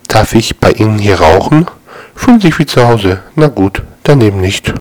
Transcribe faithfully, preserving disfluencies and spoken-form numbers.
Darf ich bei Ihnen hier rauchen? Fühlen sich wie zu Hause. Na gut, dann eben nicht.